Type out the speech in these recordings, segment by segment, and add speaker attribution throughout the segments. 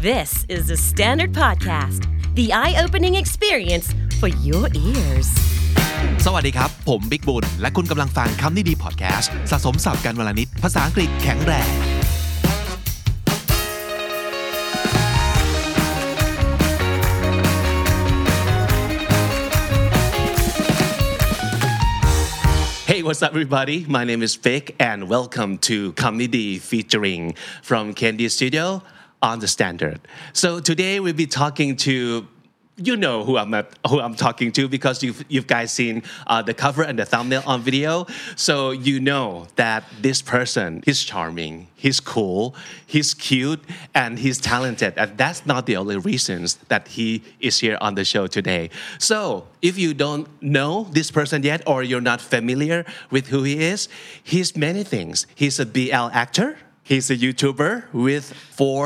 Speaker 1: This is the Standard Podcast, the eye-opening experience for your ears.
Speaker 2: สวัสดีครับผมบิ๊กบุญและคุณกำลังฟังคำนี้ดีพอดแคสต์สะสมศัพท์กันวลนิดภาษาอังกฤษแข็งแรง Hey, what's up, everybody? My name is Vic, and welcome to Comedy featuring from Candy Studio on the Standard. So today we'll be talking to, you know who I'm talking to because you've guys seen the cover and the thumbnail on video. So you know that this person, he's charming, he's cool, he's cute, and he's talented. And that's not the only reasons that he is here on the show today. So if you don't know this person yet or you're not familiar with who he is, he's many things. He's a BL actor. He's a YouTuber with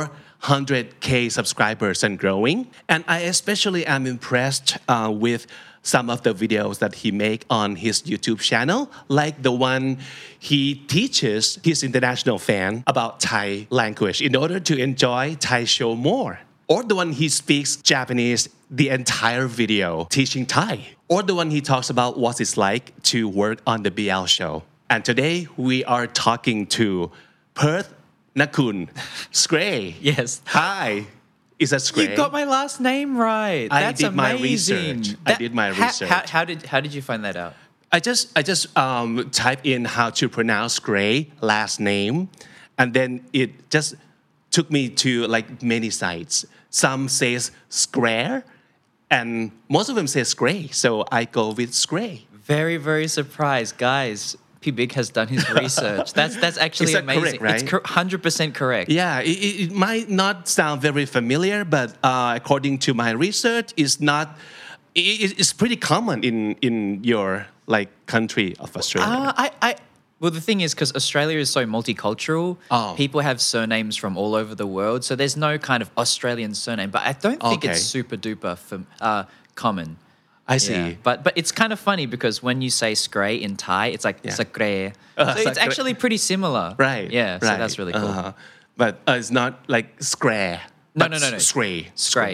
Speaker 2: 400K subscribers and growing. And I especially am impressed with some of the videos that he make on his YouTube channel, like the one he teaches his international fan about Thai language in order to enjoy Thai show more. Or the one he speaks Japanese the entire video teaching Thai. Or the one he talks about what it's like to work on the BL show. And today we are talking to Perth Nakun Skray.
Speaker 3: Yes.
Speaker 2: Hi. Is that Skray?
Speaker 3: You got my last name right. That's
Speaker 2: did my
Speaker 3: amazing.
Speaker 2: research. I did my research.
Speaker 3: How did you find that out?
Speaker 2: I just typed in how to pronounce Skray last name, and then it just took me to like many sites. Some says Square, and most of them say Skray, so I go with Skray.
Speaker 3: Very, very surprised, guys. P. Big has done his research. That's actually amazing.
Speaker 2: Correct, right?
Speaker 3: It's 100% correct.
Speaker 2: Yeah, it might not sound very familiar, but according to my research, it's pretty common in your like country of Australia.
Speaker 3: Well, the thing is, because Australia is so multicultural, people have surnames from all over the world, so there's no kind of Australian surname. But I don't think it's super duper common.
Speaker 2: I see.
Speaker 3: Yeah. But it's kind of funny because when you say Skray in Thai, it's like Sakre. So it's actually pretty similar.
Speaker 2: Right.
Speaker 3: Yeah, so that's really cool.
Speaker 2: But it's not like Skray.
Speaker 3: No.
Speaker 2: Skray.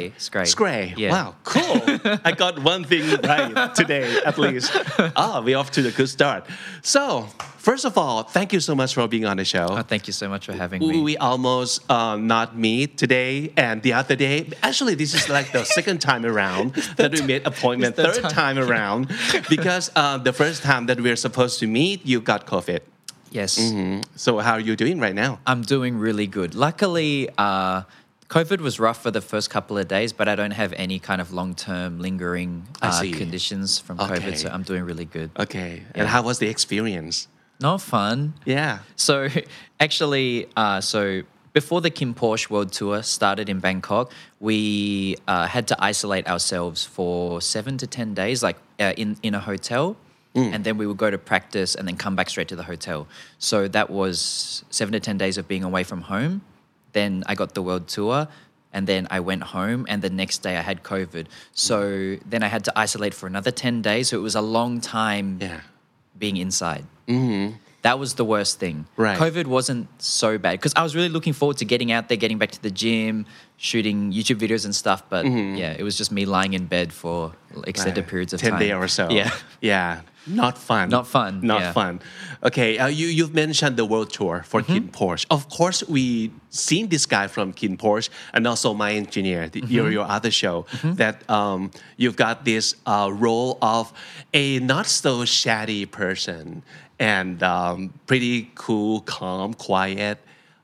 Speaker 3: Skray. Yeah.
Speaker 2: Wow, cool. I got one thing right today, at least. We're off to a good start. So, first of all, thank you so much for being on the show.
Speaker 3: Thank you so much for having me.
Speaker 2: We almost not meet today and the other day. Actually, this is like the second time around that we made appointment. Third time around because the first time that we were supposed to meet, you got COVID.
Speaker 3: Yes.
Speaker 2: Mm-hmm. So, how are you doing right now?
Speaker 3: I'm doing really good. Luckily, COVID was rough for the first couple of days, but I don't have any kind of long-term lingering conditions from COVID, so I'm doing really good.
Speaker 2: Okay. And how was the experience?
Speaker 3: Not fun.
Speaker 2: Yeah.
Speaker 3: So actually, before the Kim Porsche World Tour started in Bangkok, we had to isolate ourselves for 7 to 10 days, like in a hotel. And then we would go to practice and then come back straight to the hotel. So that was 7 to 10 days of being away from home. Then I got the world tour and then I went home and the next day I had COVID. So then I had to isolate for another 10 days. So it was a long time being inside. Mm-hmm. That was the worst thing.
Speaker 2: Right.
Speaker 3: COVID wasn't so bad because I was really looking forward to getting out there, getting back to the gym, shooting YouTube videos and stuff. But it was just me lying in bed for extended periods of
Speaker 2: 10
Speaker 3: time.
Speaker 2: 10 days or so.
Speaker 3: Yeah.
Speaker 2: Yeah. Not fun.
Speaker 3: Not
Speaker 2: fun. Okay, you've mentioned the world tour for Kim Porsche. Of course, we seen this guy from Kim Porsche and also My Engineer, your other show, that you've got this role of a not so shady person and pretty cool, calm, quiet,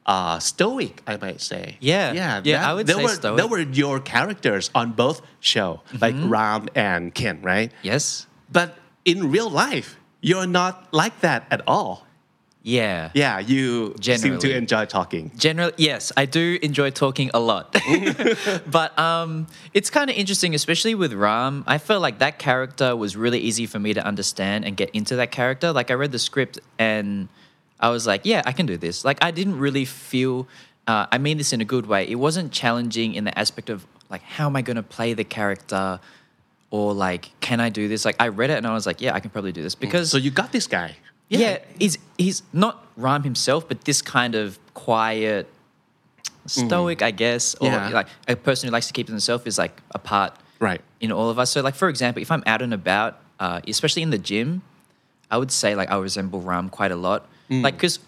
Speaker 2: stoic, I might say.
Speaker 3: Yeah, I would say stoic.
Speaker 2: There were your characters on both shows, like Ram and Ken, right?
Speaker 3: Yes.
Speaker 2: But in real life, you're not like that at all.
Speaker 3: Yeah.
Speaker 2: Yeah, you seem to enjoy talking.
Speaker 3: Generally, yes, I do enjoy talking a lot. But it's kind of interesting, especially with Ram. I felt like that character was really easy for me to understand and get into that character. Like I read the script and I was like, yeah, I can do this. Like I didn't really feel, I mean this in a good way. It wasn't challenging in the aspect of like, how am I going to play the character? Or like, can I do this? Like I read it and I was like, yeah, I can probably do this because...
Speaker 2: So you got this guy.
Speaker 3: Yeah, he's not Ram himself, but this kind of quiet, stoic, I guess, or
Speaker 2: Yeah.
Speaker 3: like a person who likes to keep to themselves is like a part
Speaker 2: Right.
Speaker 3: in all of us. So like for example, if I'm out and about, especially in the gym, I would say like I resemble Ram quite a lot. Like because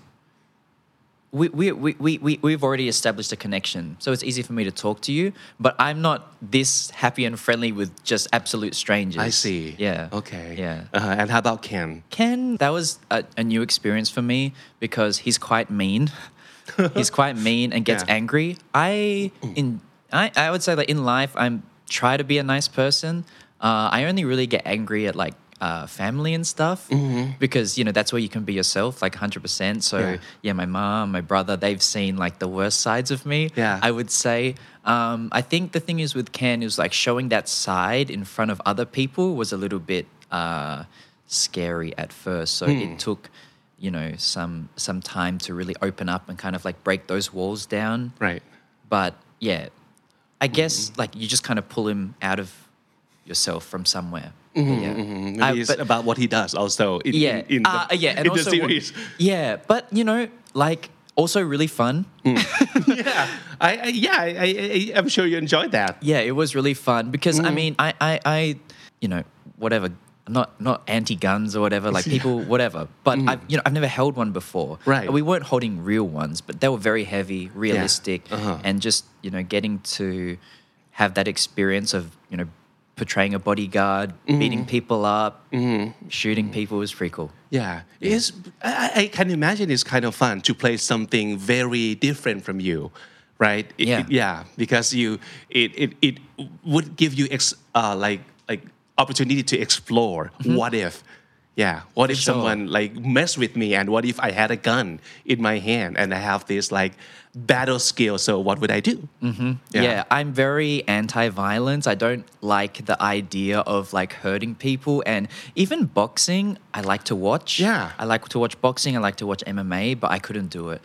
Speaker 3: we've already established a connection, so it's easy for me to talk to you. But I'm not this happy and friendly with just absolute strangers.
Speaker 2: I see.
Speaker 3: Yeah.
Speaker 2: Okay.
Speaker 3: Yeah.
Speaker 2: And how about Ken?
Speaker 3: Ken, that was a new experience for me because he's quite mean. He's quite mean and gets
Speaker 2: Yeah.
Speaker 3: angry. I would say that in life I'm try to be a nice person. I only really get angry at like family and stuff because that's where you can be yourself like 100%. So yeah, my mom, my brother, they've seen like the worst sides of me.
Speaker 2: Yeah.
Speaker 3: I would say. I think the thing is with Ken is like showing that side in front of other people was a little bit scary at first. So it took some time to really open up and kind of like break those walls down.
Speaker 2: Right.
Speaker 3: But yeah, I guess like you just kind of pull him out of yourself from somewhere. Yeah.
Speaker 2: Maybe it's about what he does also in
Speaker 3: Yeah.
Speaker 2: in the,
Speaker 3: And
Speaker 2: in the
Speaker 3: also
Speaker 2: series.
Speaker 3: Yeah, but like also really fun.
Speaker 2: Yeah. I'm sure you enjoyed that.
Speaker 3: Yeah, it was really fun because I mean, I whatever. I'm not anti-guns or whatever, like people, whatever. But I've never held one before.
Speaker 2: Right.
Speaker 3: We weren't holding real ones, but they were very heavy, realistic, and just getting to have that experience of portraying a bodyguard, beating people up, shooting people was pretty cool.
Speaker 2: Yeah, I can imagine it's kind of fun to play something very different from you, right? Because it would give you like opportunity to explore. What if? Yeah, what if
Speaker 3: sure.
Speaker 2: someone like messed with me, and what if I had a gun in my hand and I have this like battle skill? So what would I do?
Speaker 3: Yeah, I'm very anti-violence. I don't like the idea of like hurting people, and even boxing, I like to watch.
Speaker 2: Yeah.
Speaker 3: I like to watch boxing. I like to watch MMA, but I couldn't do it.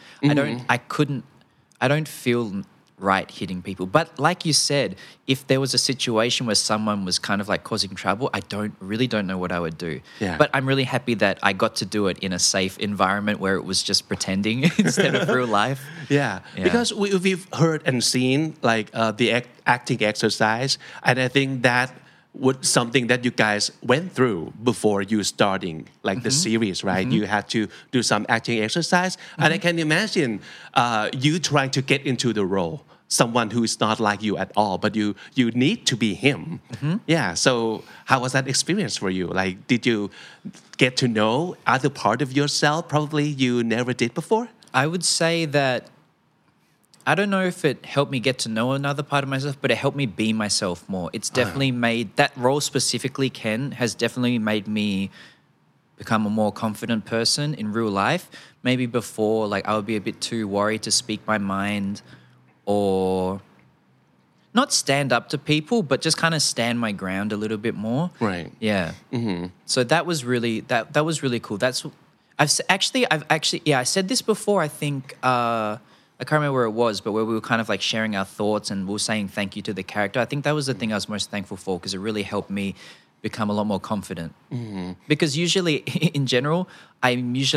Speaker 3: I don't feel right hitting people. But like you said, if there was a situation where someone was kind of like causing trouble, I don't know what I would do.
Speaker 2: Yeah.
Speaker 3: But I'm really happy that I got to do it in a safe environment where it was just pretending instead of real life.
Speaker 2: Yeah, because we've heard and seen like the acting exercise, and I think that was something that you guys went through before you starting like the series, right? You had to do some acting exercise, and I can imagine you trying to get into the role, someone who is not like you at all, but you need to be him. Yeah. So how was that experience for you? Like, did you get to know other part of yourself probably you never did before?
Speaker 3: I would say that I don't know if it helped me get to know another part of myself, but it helped me be myself more. It's definitely made that role specifically, Ken, has definitely made me become a more confident person in real life. Maybe before, like I would be a bit too worried to speak my mind or not stand up to people, but just kind of stand my ground a little bit more.
Speaker 2: Right.
Speaker 3: Yeah. So that was really that was really cool. I said this before. I think I can't remember where it was, but where we were kind of like sharing our thoughts and we were saying thank you to the character. I think that was the thing I was most thankful for because it really helped me become a lot more confident. Because usually, in general, I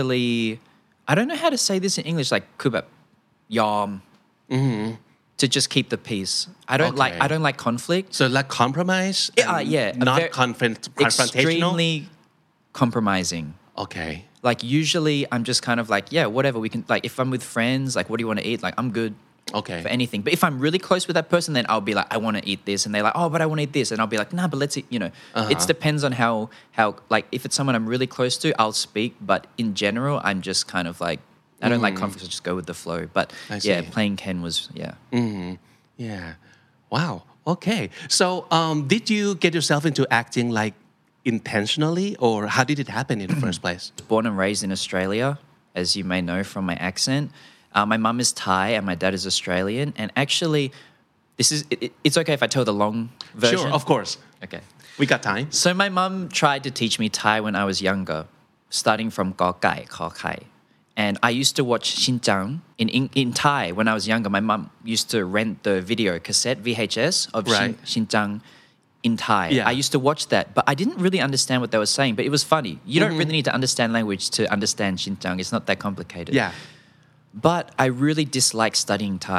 Speaker 3: don't know how to say this in English, like kubap, yom, to just keep the peace. I don't like conflict.
Speaker 2: So like compromise? Not confrontational?
Speaker 3: Extremely compromising.
Speaker 2: Okay.
Speaker 3: Like usually I'm just kind of like, yeah, whatever we can, like if I'm with friends, like what do you want to eat? Like I'm good
Speaker 2: Okay.
Speaker 3: for anything. But if I'm really close with that person, then I'll be like, I want to eat this. And they're like, oh, but I want to eat this. And I'll be like, nah, but let's eat, It depends on how like if it's someone I'm really close to, I'll speak. But in general, I'm just kind of like, I don't like conflicts, I just go with the flow. But yeah,
Speaker 2: see.
Speaker 3: playing Ken was,
Speaker 2: Yeah. Wow. Okay. So did you get yourself into acting like intentionally, or how did it happen in the first place?
Speaker 3: Born and raised in Australia, as you may know from my accent. My mum is Thai and my dad is Australian. And actually, it's okay if I tell the long version?
Speaker 2: Sure, of course.
Speaker 3: Okay.
Speaker 2: We got time.
Speaker 3: So my mum tried to teach me Thai when I was younger, starting from Gao Kai, Kha Kai. And I used to watch Xinjiang in Thai when I was younger. My mum used to rent the video cassette, VHS, of
Speaker 2: Right.
Speaker 3: Xinjiang in Thai.
Speaker 2: Yeah.
Speaker 3: I used to watch that, but I didn't really understand what they were saying, but it was funny. You don't really need to understand language to understand Xinjiang. It's not that complicated.
Speaker 2: Yeah.
Speaker 3: But I really dislike studying Thai.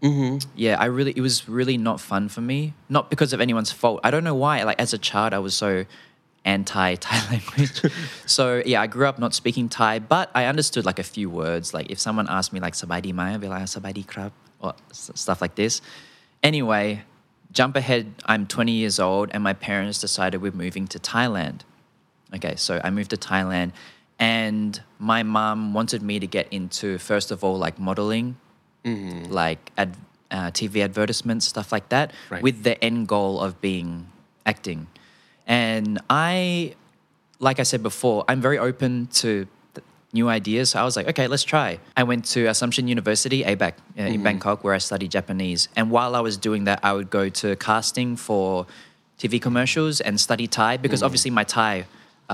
Speaker 3: Yeah, it was really not fun for me. Not because of anyone's fault. I don't know why. Like as a child, I was so anti-Thai language. So yeah, I grew up not speaking Thai, but I understood like a few words. Like if someone asked me like "sabai di mai," I'd be like "sabai di krab" or stuff like this. Anyway, jump ahead. I'm 20 years old, and my parents decided we're moving to Thailand. Okay, so I moved to Thailand, and my mom wanted me to get into first of all like modeling, like TV advertisements, stuff like that,
Speaker 2: Right.
Speaker 3: with the end goal of being acting. And like I said before, I'm very open to new ideas. So I was like, okay, let's try. I went to Assumption University, ABAC, in Bangkok, where I studied Japanese. And while I was doing that, I would go to casting for TV commercials and study Thai because obviously my Thai.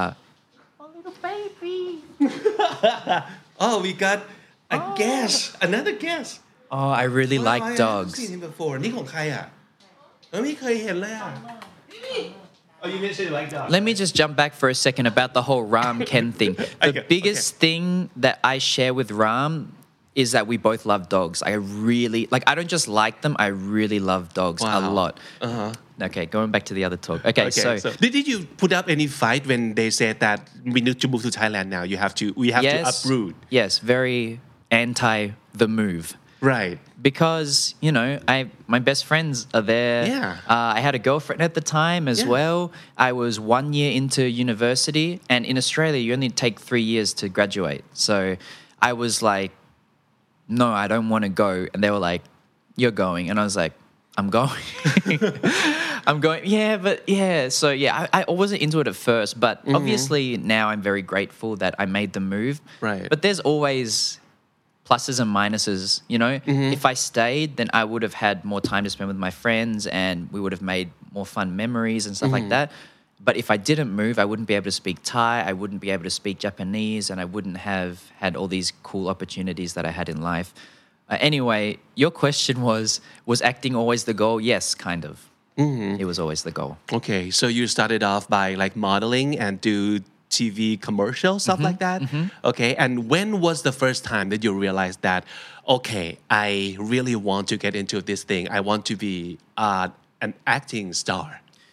Speaker 2: Oh, we got a guest, another guest.
Speaker 3: Oh, I really
Speaker 2: Wow, I
Speaker 3: like
Speaker 2: haven't
Speaker 3: dogs.
Speaker 2: seen him before. นี่ของใครอ่ะไม่เคยเห็นเลยอ่ะ Oh, you mentioned you like dogs.
Speaker 3: Let me just jump back for a second about the whole Ram Ken thing. The
Speaker 2: Okay,
Speaker 3: biggest thing that I share with Ram is that we both love dogs. I don't just like them, I really love dogs a
Speaker 2: Wow.
Speaker 3: lot. Okay, going back to the other talk. Okay, so
Speaker 2: did you put up any fight when they said that we need to move to Thailand now? We have to uproot.
Speaker 3: Yes, very anti the move.
Speaker 2: Right.
Speaker 3: Because my best friends are there.
Speaker 2: Yeah.
Speaker 3: I had a girlfriend at the time as well. I was 1 year into university, and in Australia you only take 3 years to graduate. So I was like, no, I don't want to go. And they were like, you're going. And I was like, I'm going. I'm going. Yeah, but yeah. So yeah, I wasn't into it at first, but obviously now I'm very grateful that I made the move.
Speaker 2: Right.
Speaker 3: But there's always pluses and minuses, If I stayed, then I would have had more time to spend with my friends and we would have made more fun memories and stuff like that. But if I didn't move, I wouldn't be able to speak Thai, I wouldn't be able to speak Japanese, and I wouldn't have had all these cool opportunities that I had in life. Anyway, your question was acting always the goal? Yes, kind of. It was always the goal.
Speaker 2: Okay, so you started off by like modeling and do TV commercials, stuff like that. Okay, and when was the first time that you realized that, okay, I really want to get into this thing. I want to be an acting star.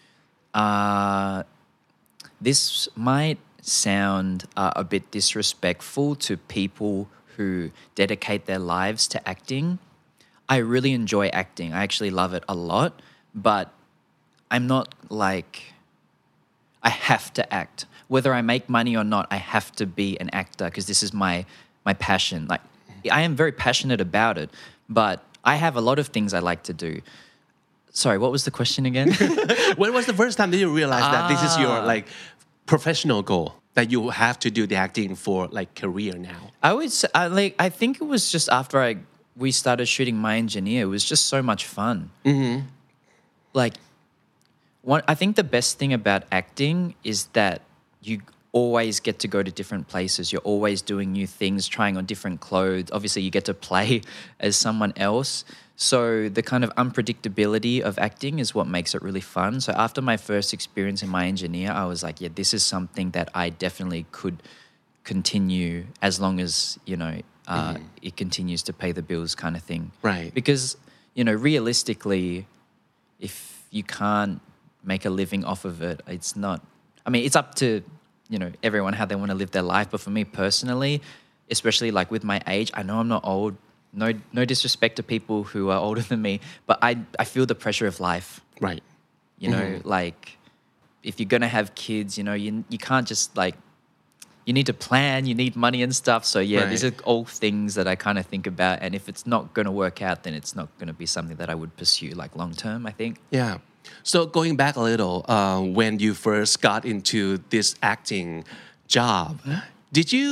Speaker 3: This might sound a bit disrespectful to people who dedicate their lives to acting. I really enjoy acting. I actually love it a lot, but I'm not like I have to act. Whether I make money or not, I have to be an actor because this is my passion. Like I am very passionate about it, but I have a lot of things I like to do. Sorry, what was the question again?
Speaker 2: When was the first time that you realized that this is your like professional goal, that you have to do the acting for like career now?
Speaker 3: I would say, I think it was just after we started shooting My Engineer. It was just so much fun. Like, I think the best thing about acting is that you always get to go to different places. You're always doing new things, trying on different clothes. Obviously, you get to play as someone else. So the kind of unpredictability of acting is what makes it really fun. So after my first experience in My Engineer, I was like, yeah, this is something that I definitely could continue as long as, it continues to pay the bills kind of thing.
Speaker 2: Right.
Speaker 3: Because, realistically, if you can't make a living off of it, it's not... I mean, it's up to, everyone how they want to live their life. But for me personally, especially like with my age, I know I'm not old. No disrespect to people who are older than me, but I feel the pressure of life.
Speaker 2: Right.
Speaker 3: Like if you're going to have kids, you can't just like, you need to plan, you need money and stuff. So yeah,
Speaker 2: Right.
Speaker 3: These are all things that I kind of think about. And if it's not going to work out, then it's not going to be something that I would pursue like long term, I think.
Speaker 2: Yeah. So going back a little, when you first got into this acting job, did you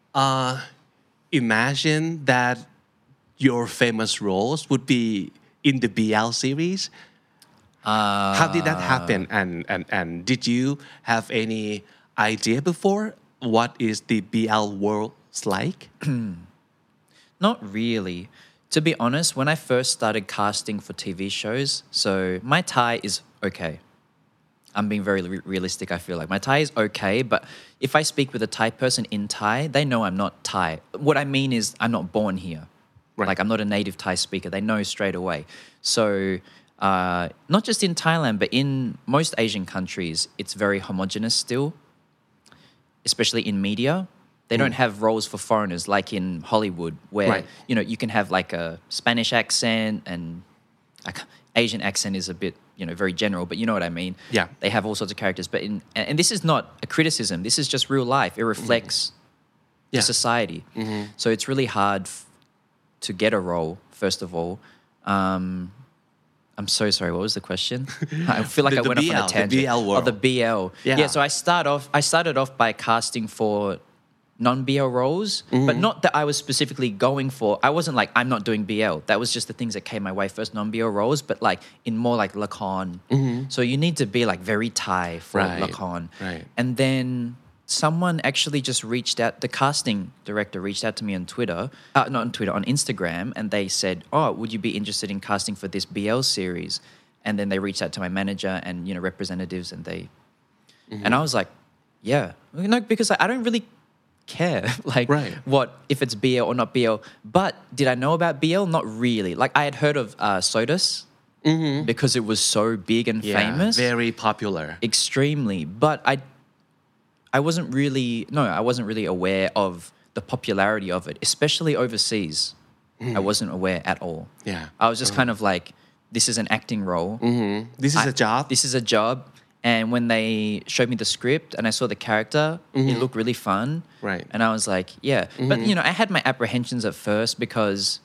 Speaker 2: imagine that your famous roles would be in the BL series? How did that happen? And did you have any idea before what is the BL world like?
Speaker 3: Not really. To be honest, when I first started casting for TV shows, so my Thai is okay. I'm being very realistic, I feel like. My Thai is okay, but if I speak with a Thai person in Thai, they know I'm not Thai. What I mean is I'm not born here.
Speaker 2: Right.
Speaker 3: Like I'm not a native Thai speaker. They know straight away. So not just in Thailand, but in most Asian countries, it's very homogenous still, especially in media. They don't have roles for foreigners like in Hollywood where,
Speaker 2: Right.
Speaker 3: you can have like a Spanish accent and like Asian accent is a bit, very general, but you know what I mean?
Speaker 2: Yeah.
Speaker 3: They have all sorts of characters. But and this is not a criticism. This is just real life. It reflects
Speaker 2: Yeah.
Speaker 3: society. So it's really hard to get a role, first of all. I'm so sorry. What was the question? I feel like
Speaker 2: The
Speaker 3: I went off on
Speaker 2: BL,
Speaker 3: a
Speaker 2: the
Speaker 3: tangent.
Speaker 2: BL world.
Speaker 3: The BL.
Speaker 2: Yeah.
Speaker 3: So I started off by casting for non-BL roles, but not that I was specifically going for. I wasn't like, I'm not doing BL. That was just the things that came my way first, non-BL roles, but like in more like Lakan. So you need to be like very Thai for
Speaker 2: Right,
Speaker 3: Lakan.
Speaker 2: right.
Speaker 3: And then someone actually just reached out, the casting director reached out to me on Twitter, not on Twitter, on Instagram, and they said, oh, would you be interested in casting for this BL series? And then they reached out to my manager and, representatives and they, and I was like, yeah. Because I don't really care like
Speaker 2: Right.
Speaker 3: what, if it's BL or not BL. But did I know about BL? Not really. Like I had heard of Sodas because it was so big and
Speaker 2: Yeah,
Speaker 3: famous.
Speaker 2: very popular.
Speaker 3: Extremely. But I wasn't really aware of the popularity of it, especially overseas. I wasn't aware at all.
Speaker 2: Yeah.
Speaker 3: I was just kind of like, this is an acting role.
Speaker 2: This is a job.
Speaker 3: This is a job. And when they showed me the script and I saw the character, it looked really fun.
Speaker 2: Right.
Speaker 3: And I was like, yeah. But, I had my apprehensions at first because,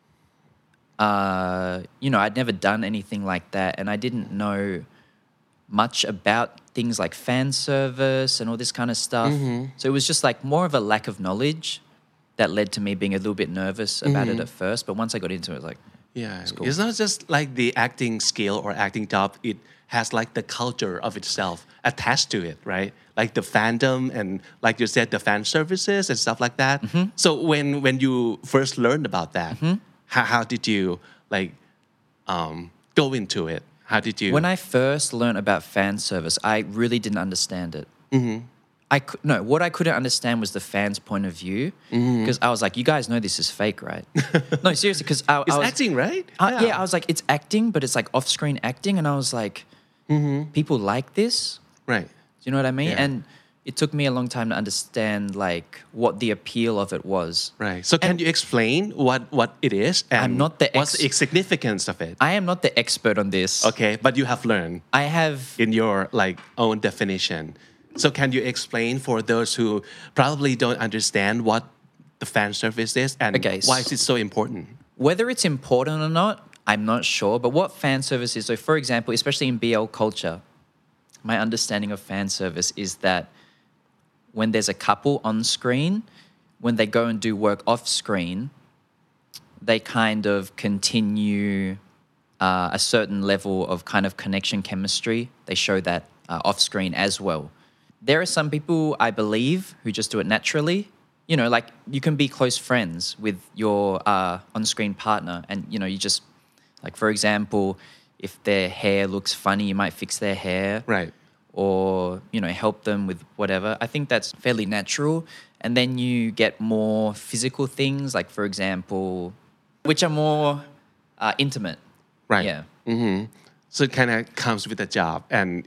Speaker 3: I'd never done anything like that. And I didn't know much about things like fan service and all this kind of stuff. So it was just like more of a lack of knowledge that led to me being a little bit nervous about it at first. But once I got into it, like,
Speaker 2: Yeah,
Speaker 3: cool.
Speaker 2: it's not just like the acting skill or acting job. It has like the culture of itself attached to it, right? Like the fandom and like you said, the fan services and stuff like that. So when you first learned about that, how did you like go into it? How did you?
Speaker 3: when I first learned about fan service, I really didn't understand it. What I couldn't understand was the fans' point of view because I was like, you guys know this is fake, right? No, seriously, because I
Speaker 2: it's
Speaker 3: was
Speaker 2: acting, right?
Speaker 3: yeah, I was like, it's acting, but it's like off-screen acting, and I was like, people like this.
Speaker 2: Right.
Speaker 3: Do you know what I mean?
Speaker 2: Yeah.
Speaker 3: And it took me a long time to understand like what the appeal of it was.
Speaker 2: Right. So can you explain what it is and
Speaker 3: I'm not the
Speaker 2: what's the significance of it?
Speaker 3: I am not the expert on this.
Speaker 2: Okay, but you have learned
Speaker 3: I have
Speaker 2: in your like own definition. So can you explain for those who probably don't understand what the fan service is and
Speaker 3: Okay,
Speaker 2: why is it so important?
Speaker 3: whether it's important or not, I'm not sure. But what fan service is, so for example, especially in BL culture, my understanding of fan service is that when there's a couple on screen, when they go and do work off screen, they kind of continue a certain level of kind of connection chemistry. They show that off screen as well. There are some people, I believe, who just do it naturally. Like you can be close friends with your on-screen partner and, you just, like, for example, if their hair looks funny, you might fix their hair.
Speaker 2: Right.
Speaker 3: Or, help them with whatever. I think that's fairly natural. And then you get more physical things, like, for example, which are more intimate.
Speaker 2: Right.
Speaker 3: Yeah.
Speaker 2: So it kind of comes with the job and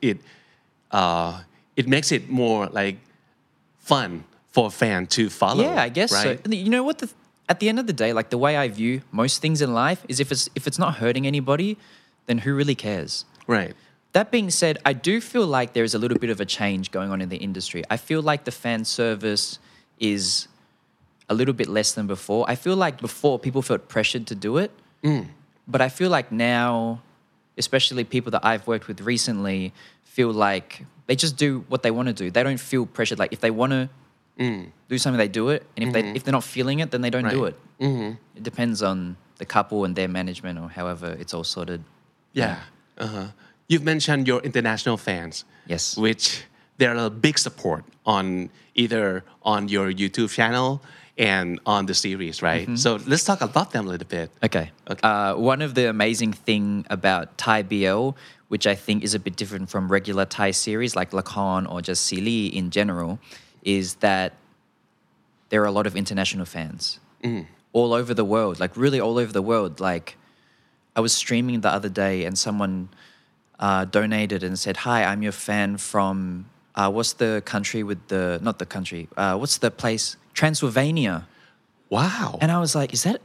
Speaker 2: it makes it more like fun for a fan to follow.
Speaker 3: Yeah, I guess
Speaker 2: right?
Speaker 3: so. You know what? At the end of the day, like the way I view most things in life is if it's not hurting anybody, then who really cares?
Speaker 2: Right.
Speaker 3: That being said, I do feel like there is a little bit of a change going on in the industry. I feel like the fan service is a little bit less than before. I feel like before people felt pressured to do it, but I feel like now, especially people that I've worked with recently, feel like they just do what they want to do. They don't feel pressured. Like if they want to do something, they do it, and if they're not feeling it, then they don't do it. It depends on the couple and their management or however it's all sorted.
Speaker 2: Yeah. You've mentioned your international fans.
Speaker 3: Yes.
Speaker 2: Which they're a big support on either on your YouTube channel and on the series, right? So let's talk about them a little bit.
Speaker 3: Okay. One of the amazing thing about Thai BL, which I think is a bit different from regular Thai series like Lakan or just Sili in general, is that there are a lot of international fans. all over the world, like really all over the world. Like I was streaming the other day and someone donated and said, "Hi, I'm your fan from what's the country with the not the country? What's the place? Transylvania."
Speaker 2: Wow.
Speaker 3: And I was like, "Is that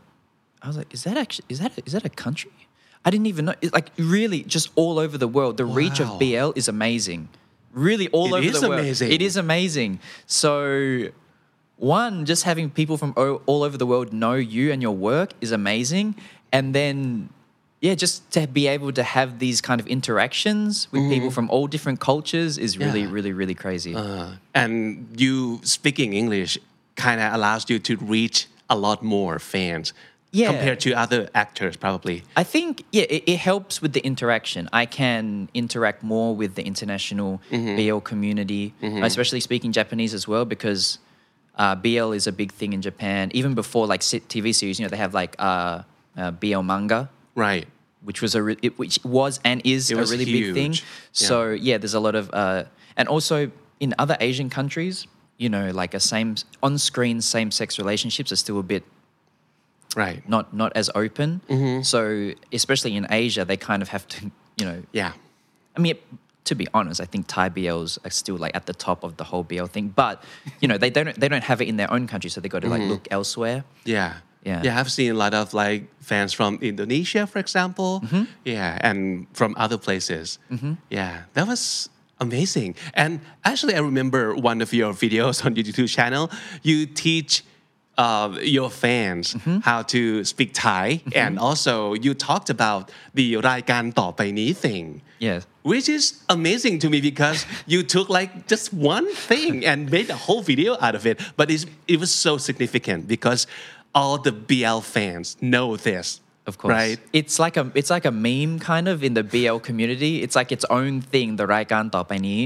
Speaker 3: a country?" I didn't even know. Like really, just all over the world. The reach of
Speaker 2: Wow.
Speaker 3: BL is amazing. Really, all
Speaker 2: It
Speaker 3: over
Speaker 2: is
Speaker 3: the world.
Speaker 2: amazing.
Speaker 3: It is amazing. So, one, just having people from all over the world know you and your work is amazing, and then, yeah, just to be able to have these kind of interactions with people from all different cultures is really,
Speaker 2: Yeah.
Speaker 3: really, really crazy.
Speaker 2: And you speaking English kind of allows you to reach a lot more fans
Speaker 3: Yeah.
Speaker 2: compared to other actors, probably.
Speaker 3: I think, yeah, it helps with the interaction. I can interact more with the international BL community, especially speaking Japanese as well, because BL is a big thing in Japan. Even before like TV series, you know, they have like BL manga,
Speaker 2: Right.
Speaker 3: which was and is
Speaker 2: It
Speaker 3: a
Speaker 2: was
Speaker 3: really big thing.
Speaker 2: huge. Yeah.
Speaker 3: So yeah, there's a lot of, and also in other Asian countries, you know, like on-screen same-sex relationships are still a bit
Speaker 2: Right.
Speaker 3: not as open. So especially in Asia, they kind of have to, you know.
Speaker 2: Yeah.
Speaker 3: I mean, to be honest, I think Thai BLs are still like at the top of the whole BL thing. But you know, they don't have it in their own country, so they got to like look elsewhere.
Speaker 2: Yeah.
Speaker 3: Yeah.
Speaker 2: Yeah, I've seen a lot of like fans from Indonesia, for example. Yeah, and from other places. Yeah, that was amazing. And actually, I remember one of your videos on your YouTube channel. You teach your fans how to speak Thai, and also you talked about the รายการต่อไปนี้ thing.
Speaker 3: Yes.
Speaker 2: Which is amazing to me because you took like just one thing and made a whole video out of it. But it was so significant because all the BL fans know this.
Speaker 3: Of course.
Speaker 2: Right?
Speaker 3: It's like a meme kind of in the BL community. It's like its own thing, the รายการต่อไปนี้.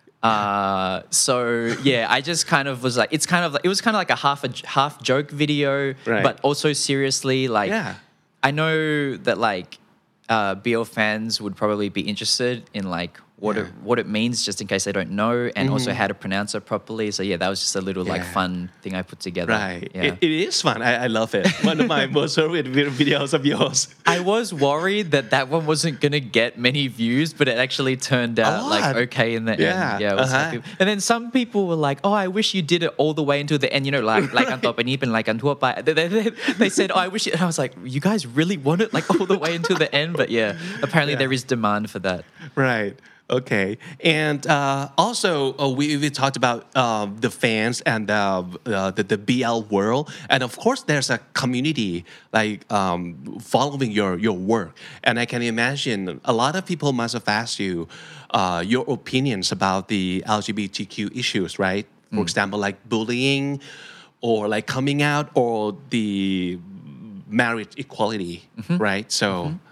Speaker 3: So yeah, I just kind of was like, it was kind of like a half joke video,
Speaker 2: Right.
Speaker 3: but also seriously, like,
Speaker 2: Yeah.
Speaker 3: I know that like, BL fans would probably be interested in like what it means, just in case they don't know, and also how to pronounce it properly. So yeah, that was just a little like
Speaker 2: Yeah.
Speaker 3: fun thing I put together.
Speaker 2: Right.
Speaker 3: Yeah.
Speaker 2: It is fun. I love it. One of my most favorite videos of yours.
Speaker 3: I was worried that one wasn't gonna get many views, but it actually turned out
Speaker 2: lot.
Speaker 3: like okay in the
Speaker 2: Yeah,
Speaker 3: end. Yeah, I was happy. And then some people were like, "Oh, I wish you did it all the way until the end." You know, like อันต่อไปนี้เป็นรายการทั่วไป They said, "Oh, I wish," and I was like, "You guys really want it like all the way until the end?" But yeah, apparently there is demand for that.
Speaker 2: Right. Okay. And also, we talked about the fans and the BL world. And of course, there's a community like following your work. And I can imagine a lot of people must have asked you your opinions about the LGBTQ issues, right? For example, like bullying or like coming out or the marriage equality, right? So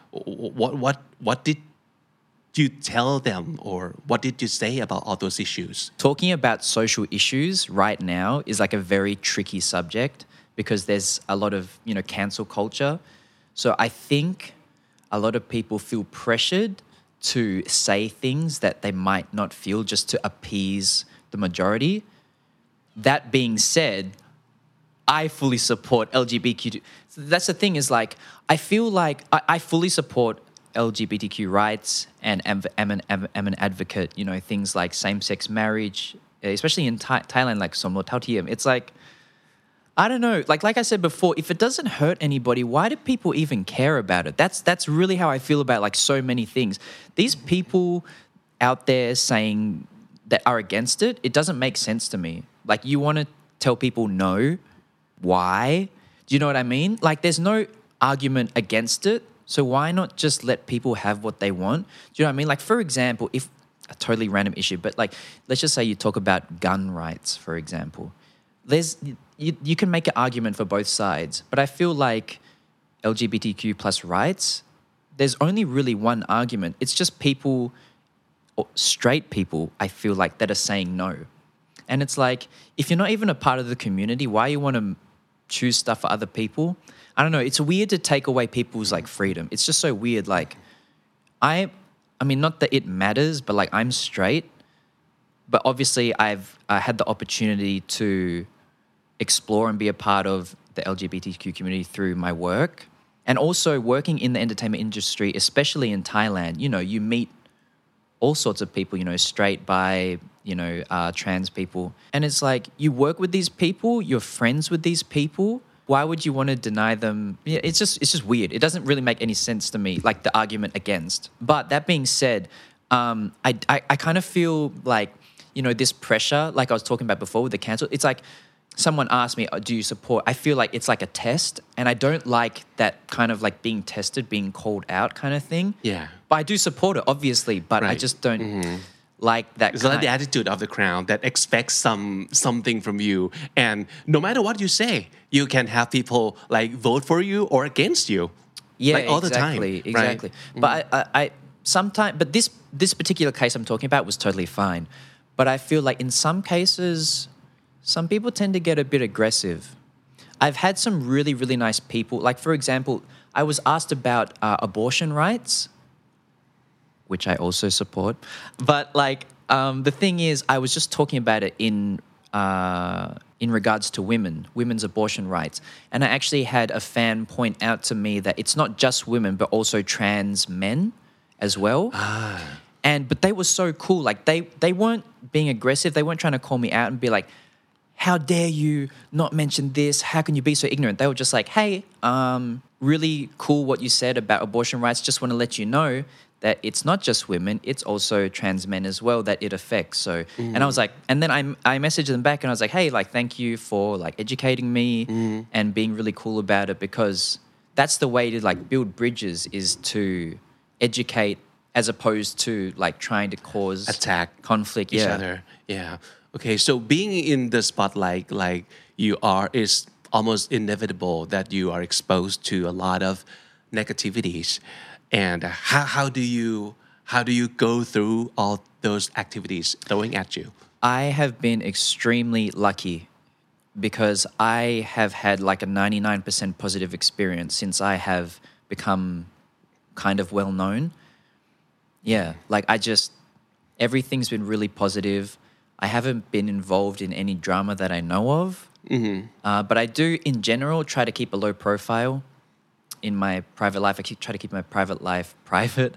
Speaker 2: what did you tell them or what did you say about all those issues?
Speaker 3: Talking about social issues right now is like a very tricky subject because there's a lot of, you know, cancel culture. So I think a lot of people feel pressured to say things that they might not feel just to appease the majority. That being said, I fully support LGBTQ. That's the thing is like, I feel like I fully support LGBTQ rights and I'm an advocate, you know, things like same-sex marriage, especially in Thailand, like สมรสเท่าเทียม. It's like, I don't know, like I said before, if it doesn't hurt anybody, why do people even care about it? That's really how I feel about like so many things. These people out there saying that are against it, it doesn't make sense to me. Like you want to tell people no, why? Do you know what I mean? Like there's no argument against it. So why not just let people have what they want? Do you know what I mean? Like for example, if a totally random issue, but like let's just say you talk about gun rights, for example. You can make an argument for both sides, but I feel like LGBTQ plus rights, there's only really one argument. It's just people, or straight people, I feel like, that are saying no. And it's like, if you're not even a part of the community, why you want to choose stuff for other people? I don't know. It's weird to take away people's like freedom. It's just so weird. Like, I mean, not that it matters, but like I'm straight. But obviously, I've had the opportunity to explore and be a part of the LGBTQ community through my work. And also working in the entertainment industry, especially in Thailand, you meet all sorts of people, straight, bi, trans people. And it's like, you work with these people, you're friends with these people. Why would you want to deny them? Yeah, it's just weird. It doesn't really make any sense to me, like the argument against. But that being said, I kind of feel like, this pressure, like I was talking about before with the cancel, it's like, someone asked me, do you support? I feel like it's like a test, and I don't like that kind of like being tested, being called out kind of thing.
Speaker 2: Yeah.
Speaker 3: But I do support it, obviously, but I
Speaker 2: Right.
Speaker 3: just don't like that
Speaker 2: It's like the attitude of the crowd that expects something from you, and no matter what you say, you can have people like vote for you or against you.
Speaker 3: Yeah,
Speaker 2: like all the time,
Speaker 3: exactly,
Speaker 2: right?
Speaker 3: exactly. But I sometimes, but this particular case I'm talking about was totally fine. But I feel like in some cases, some people tend to get a bit aggressive. I've had some really, really nice people. Like, for example, I was asked about abortion rights, which I also support. But like, the thing is, I was just talking about it in regards to women's abortion rights. And I actually had a fan point out to me that it's not just women, but also trans men as well. But they were so cool. Like they weren't being aggressive. They weren't trying to call me out and be like, how dare you not mention this? How can you be so ignorant? They were just like, hey, really cool what you said about abortion rights. Just want to let you know that it's not just women, it's also trans men as well that it affects. So, and I was like, and then I messaged them back and I was like, hey, like, thank you for like educating me and being really cool about it, because that's the way to like build bridges, is to educate as opposed to like trying to cause
Speaker 2: Attack
Speaker 3: conflict.
Speaker 2: each other. Yeah. Okay. So being in the spotlight, like you are, is almost inevitable that you are exposed to a lot of negativities. And how do you go through all those activities throwing at you?
Speaker 3: I have been extremely lucky because I have had like a 99% positive experience since I have become kind of well known. Yeah, like everything's been really positive. I haven't been involved in any drama that I know of. But I do, in general, try to keep a low profile in my private life. I try to keep my private life private.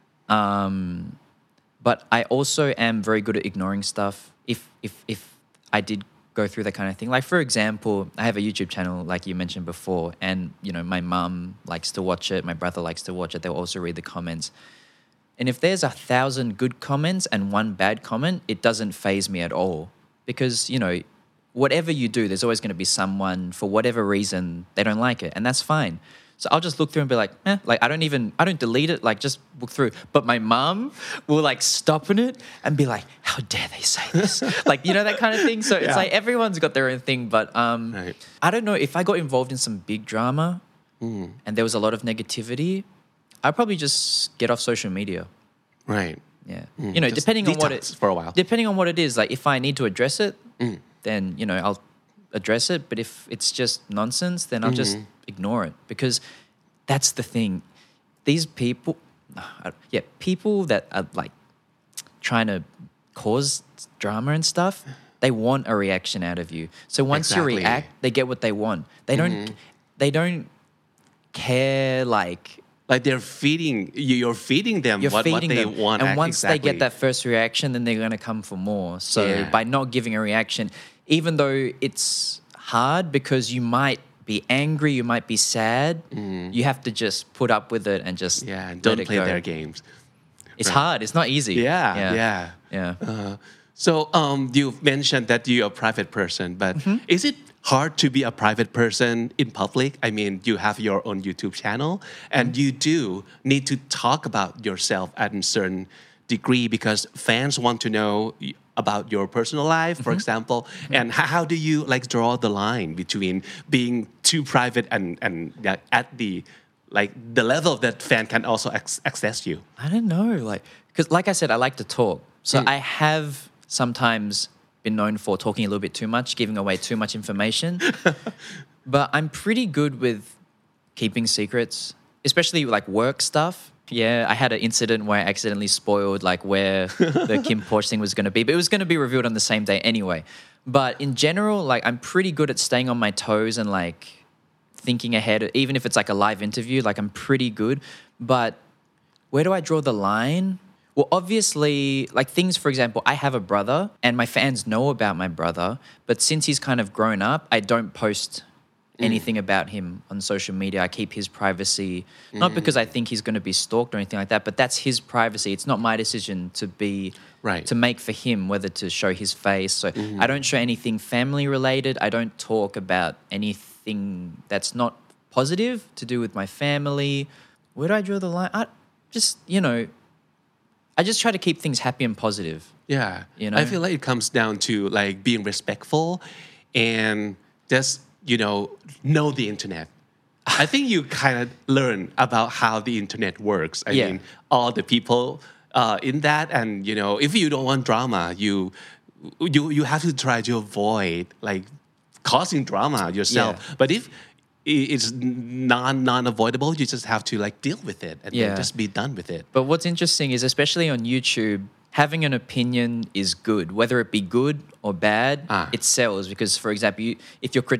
Speaker 3: But I also am very good at ignoring stuff if I did go through that kind of thing. Like, for example, I have a YouTube channel, like you mentioned before, and, my mum likes to watch it. My brother likes to watch it. They'll also read the comments. And if there's 1,000 good comments and one bad comment, it doesn't faze me at all. Because, whatever you do, there's always going to be someone, for whatever reason, they don't like it. And that's fine. So I'll just look through and be like, like I don't delete it, like just look through. But my mom will like stop in it and be like, how dare they say this? Like, that kind of thing. So it's like everyone's got their own thing. But
Speaker 2: Right.
Speaker 3: I don't know, if I got involved in some big drama and there was a lot of negativity, I'd probably just get off social media.
Speaker 2: Right.
Speaker 3: Yeah.
Speaker 2: Just
Speaker 3: depending on what
Speaker 2: detox for a while.
Speaker 3: Depending on what it is, like if I need to address it, then, I'll address it. But if it's just nonsense, then I'll just ignore it, because that's the thing. These people, people that are like trying to cause drama and stuff, they want a reaction out of you. So once
Speaker 2: Exactly.
Speaker 3: you react, they get what they want. They don't care, like
Speaker 2: they're feeding you. You're feeding them
Speaker 3: you're
Speaker 2: what
Speaker 3: feeding
Speaker 2: they
Speaker 3: them.
Speaker 2: want.
Speaker 3: And once they
Speaker 2: exactly.
Speaker 3: get that first reaction, then they're going to come for more. So
Speaker 2: Yeah.
Speaker 3: by not giving a reaction, even though it's hard because you might be angry, you might be sad, you have to just put up with it and just
Speaker 2: and
Speaker 3: let
Speaker 2: don't
Speaker 3: it
Speaker 2: play
Speaker 3: go.
Speaker 2: their games.
Speaker 3: It's hard. It's not easy.
Speaker 2: Yeah. So you've mentioned that you're a private person, but is it hard to be a private person in public? I mean, you have your own YouTube channel, and you do need to talk about yourself at a certain degree because fans want to know about your personal life, for example. And how do you like draw the line between being too private and at the the level that fan can also access you?
Speaker 3: I don't know. Because like I said, I like to talk. So I have sometimes been known for talking a little bit too much, giving away too much information. But I'm pretty good with keeping secrets, especially like work stuff. Yeah, I had an incident where I accidentally spoiled like where the Kim Porsche thing was going to be, but it was going to be revealed on the same day anyway. But in general, like I'm pretty good at staying on my toes and like thinking ahead, even if it's like a live interview, like I'm pretty good. But where do I draw the line? Well, obviously, like things, for example, I have a brother and my fans know about my brother, but since he's kind of grown up, I don't post anything about him on social media. I keep his privacy, not because I think he's going to be stalked or anything like that, but that's his privacy. It's not my decision to to make for him, whether to show his face. So I don't show anything family related. I don't talk about anything that's not positive to do with my family. Where do I draw the line? I just try to keep things happy and positive.
Speaker 2: Yeah.
Speaker 3: You know?
Speaker 2: I feel like it comes down to like being respectful and just, know the internet. I think you kind of learn about how the internet works. I mean, all the people in that, and if you don't want drama, you have to try to avoid like causing drama yourself.
Speaker 3: Yeah.
Speaker 2: But if it's non-avoidable, you just have to like deal with it and then just be done with it.
Speaker 3: But what's interesting is, especially on YouTube, having an opinion is good. Whether it be good or bad, it sells. Because, for example, if you're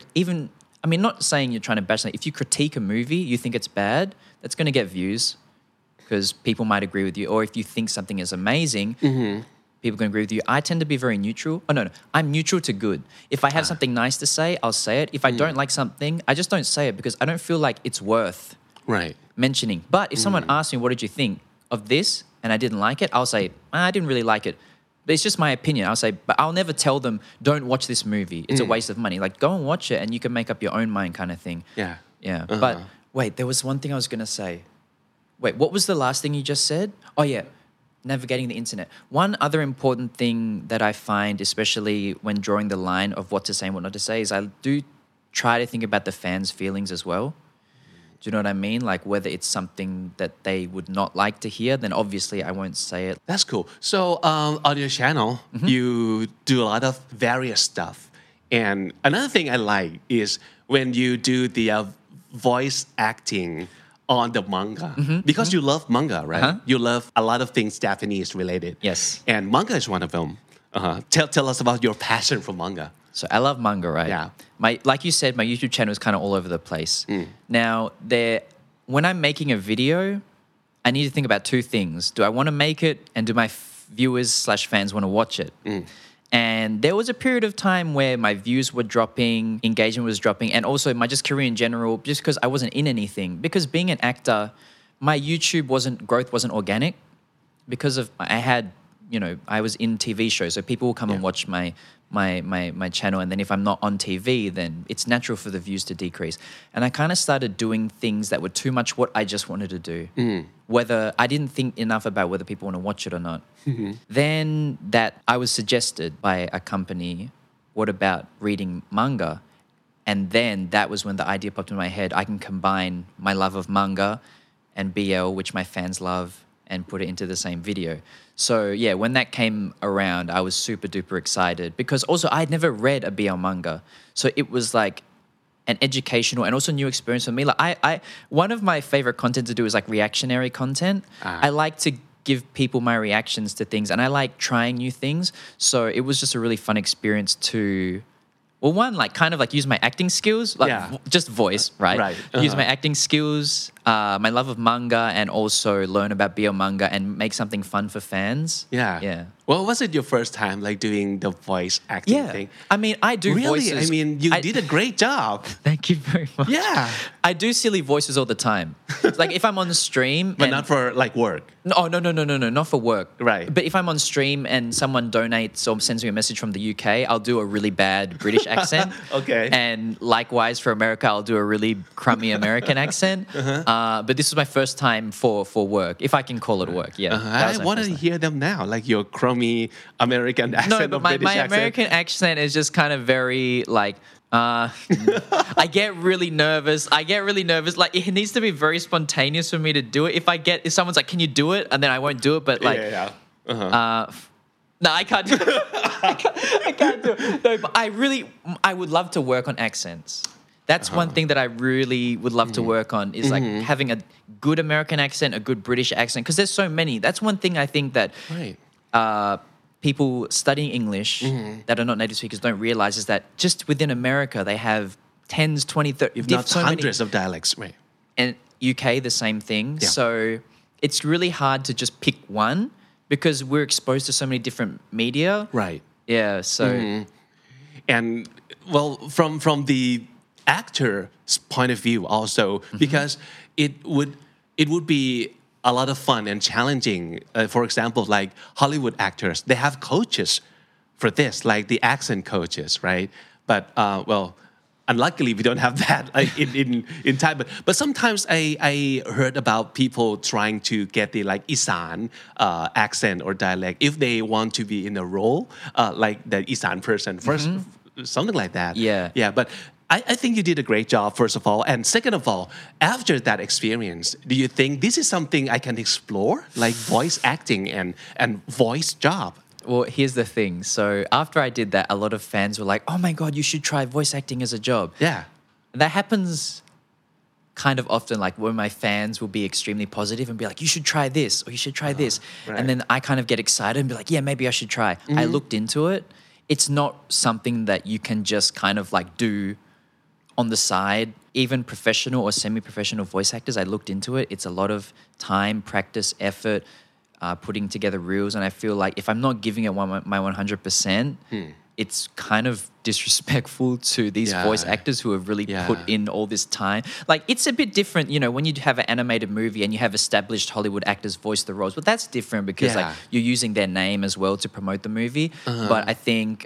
Speaker 3: not saying you're trying to bash something. If you critique a movie, you think it's bad, that's going to get views because people might agree with you. Or if you think something is amazing, people can agree with you. I tend to be very neutral. Oh, no. I'm neutral to good. If I have something nice to say, I'll say it. If I don't like something, I just don't say it because I don't feel like it's worth mentioning. But if someone asks me, what did you think of this? And I didn't like it, I'll say, I didn't really like it. But it's just my opinion. I'll say, but I'll never tell them, don't watch this movie. It's a waste of money. Like, go and watch it and you can make up your own mind kind of thing.
Speaker 2: Yeah.
Speaker 3: Yeah. But wait, there was one thing I was going to say. Wait, what was the last thing you just said? Oh, yeah. Navigating the internet. One other important thing that I find, especially when drawing the line of what to say and what not to say, is I do try to think about the fans' feelings as well. Do you know what I mean? Like whether it's something that they would not like to hear, then obviously I won't say it.
Speaker 2: That's cool. So on your channel, you do a lot of various stuff. And another thing I like is when you do the voice acting on the manga. Because you love manga, right? You love a lot of things Japanese related.
Speaker 3: Yes.
Speaker 2: And manga is one of them. Tell us about your passion for manga.
Speaker 3: So I love manga, right?
Speaker 2: Yeah.
Speaker 3: Like you said, my YouTube channel is kind of all over the place. Now, when I'm making a video, I need to think about two things. Do I want to make it and do my viewers/fans want to watch it? And there was a period of time where my views were dropping, engagement was dropping, and also my just career in general, just because I wasn't in anything. Because being an actor, my YouTube growth wasn't organic because of I was in TV shows, so people will come and watch my channel, and then if I'm not on TV, then it's natural for the views to decrease. And I kind of started doing things that were too much what I just wanted to do. Whether I didn't think enough about whether people want to watch it or not. Then that I was suggested by a company, what about reading manga? And then that was when the idea popped in my head. I can combine my love of manga and BL, which my fans love, and put it into the same video. So yeah, when that came around, I was super duper excited because also I'd never read a BL manga. So it was like an educational and also new experience for me. Like one of my favorite content to do is like reactionary content. I like to give people my reactions to things and I like trying new things. So it was just a really fun experience to, well, one, like kind of like use my acting skills, like just voice, right? Use my acting skills, my love of manga, and also learn about BL manga and make something fun for fans. Yeah.
Speaker 2: Well, was it your first time like doing the voice acting thing?
Speaker 3: I mean, I do voices.
Speaker 2: Really? I mean, you did a great job.
Speaker 3: Thank you very much.
Speaker 2: Yeah.
Speaker 3: I do silly voices all the time. Like if I'm on the stream.
Speaker 2: But not for like work.
Speaker 3: No, not for work.
Speaker 2: Right.
Speaker 3: But if I'm on stream and someone donates or sends me a message from the UK, I'll do a really bad British accent.
Speaker 2: Okay.
Speaker 3: And likewise for America, I'll do a really crummy American accent. But this was my first time for work, if I can call it work. Yeah.
Speaker 2: I want to hear them now, like your crummy American accent.
Speaker 3: No, but my American accent is just kind of very like. I get really nervous. Like it needs to be very spontaneous for me to do it. If someone's like, "Can you do it?" and then I won't do it. But like, no, I can't do it. I can't do it. No, but I would love to work on accents. That's one thing that I really would love to work on is like having a good American accent, a good British accent, because there's so many. That's one thing I think that people studying English that are not native speakers don't realize is that just within America, they have tens, 20, 30,
Speaker 2: If not
Speaker 3: so many.
Speaker 2: hundreds of dialects, right?
Speaker 3: And UK, the same thing.
Speaker 2: Yeah.
Speaker 3: So it's really hard to just pick one because we're exposed to so many different media.
Speaker 2: Right.
Speaker 3: Yeah. So
Speaker 2: And well, from the actor's point of view also, because it would be a lot of fun and challenging. For example, like Hollywood actors, they have coaches for this, like the accent coaches, right? But well, unluckily we don't have that like in Thai. But sometimes I heard about people trying to get the like Isan accent or dialect if they want to be in a role like the Isan person first, something like that.
Speaker 3: Yeah.
Speaker 2: But I think you did a great job, first of all. And second of all, after that experience, do you think this is something I can explore, like voice acting and voice job?
Speaker 3: Well, here's the thing. So after I did that, a lot of fans were like, "Oh my God, you should try voice acting as a job."
Speaker 2: Yeah.
Speaker 3: That happens kind of often, like when my fans will be extremely positive and be like, "You should try this," or "You should try this,"
Speaker 2: right.
Speaker 3: and then I kind of get excited and be like, "Yeah, maybe I should try." I looked into it. It's not something that you can just kind of like do on the side. Even professional or semi-professional voice actors, I looked into it. It's a lot of time, practice, effort, putting together reels. And I feel like if I'm not giving it my 100%, it's kind of disrespectful to these
Speaker 2: Yeah.
Speaker 3: voice actors who have really
Speaker 2: Yeah.
Speaker 3: put in all this time. Like, it's a bit different, you know, when you have an animated movie and you have established Hollywood actors voice the roles, but that's different because like
Speaker 2: Yeah.
Speaker 3: you're using their name as well to promote the movie. But I think,